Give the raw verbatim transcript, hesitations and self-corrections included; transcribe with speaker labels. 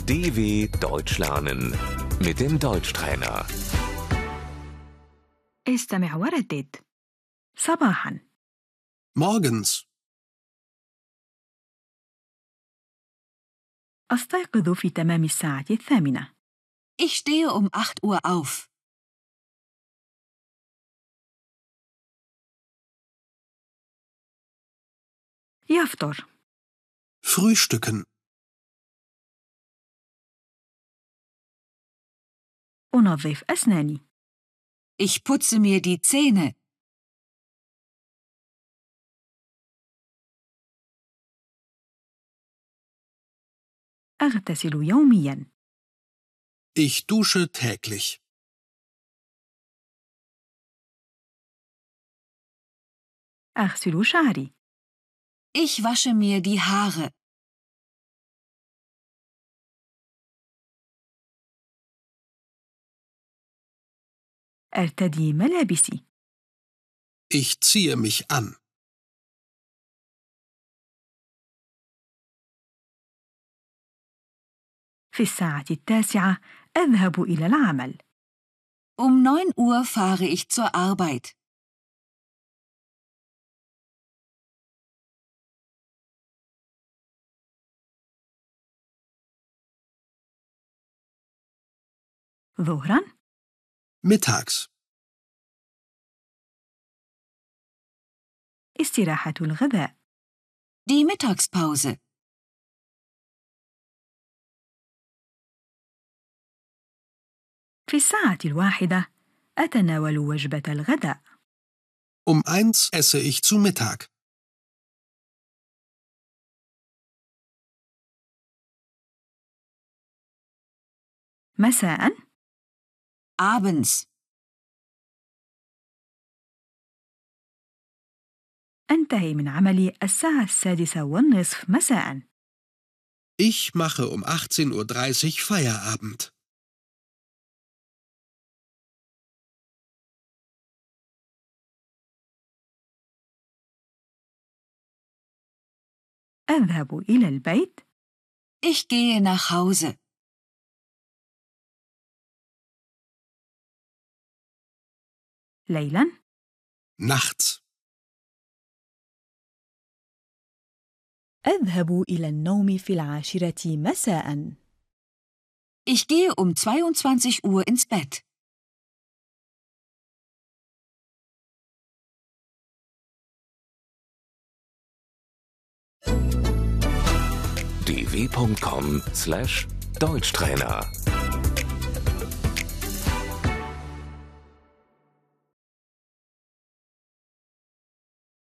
Speaker 1: D W Deutsch lernen mit dem Deutschtrainer.
Speaker 2: استمع وردد. صباحا.
Speaker 3: Morgens.
Speaker 2: أستيقظ في تمام الساعة الثامنة.
Speaker 4: Ich stehe um acht Uhr auf.
Speaker 2: يفطر.
Speaker 3: Frühstücken.
Speaker 2: أنظف أسناني.
Speaker 4: Ich putze mir die Zähne.
Speaker 2: أغتسل يومياً.
Speaker 3: Ich dusche täglich.
Speaker 2: أغسل شعري.
Speaker 4: Ich wasche mir die Haare.
Speaker 2: أرتدي ملابسي.
Speaker 3: Ich ziehe mich an.
Speaker 2: في الساعة التاسعة أذهب إلى العمل.
Speaker 4: Um neun Uhr fahre ich zur Arbeit.
Speaker 2: ظهراً.
Speaker 3: Mittags.
Speaker 2: استراحة الغذاء.
Speaker 4: Die Mittagspause.
Speaker 2: في الساعة الواحدة أتناول وجبة الغداء.
Speaker 3: Um eins esse ich zu Mittag.
Speaker 2: مساءً.
Speaker 4: Abends.
Speaker 2: أنتهي من عملي الساعة السادسة والنصف مساءً.
Speaker 3: Ich mache um achtzehn Uhr dreißig Feierabend.
Speaker 2: أذهب إلى البيت.
Speaker 4: Ich gehe nach Hause.
Speaker 2: ليلاً.
Speaker 3: Nachts.
Speaker 2: أذهب إلى النوم في العاشرة مساءً.
Speaker 4: Ich gehe um zweiundzwanzig Uhr ins Bett.
Speaker 1: d w punkt com slash Deutschtrainer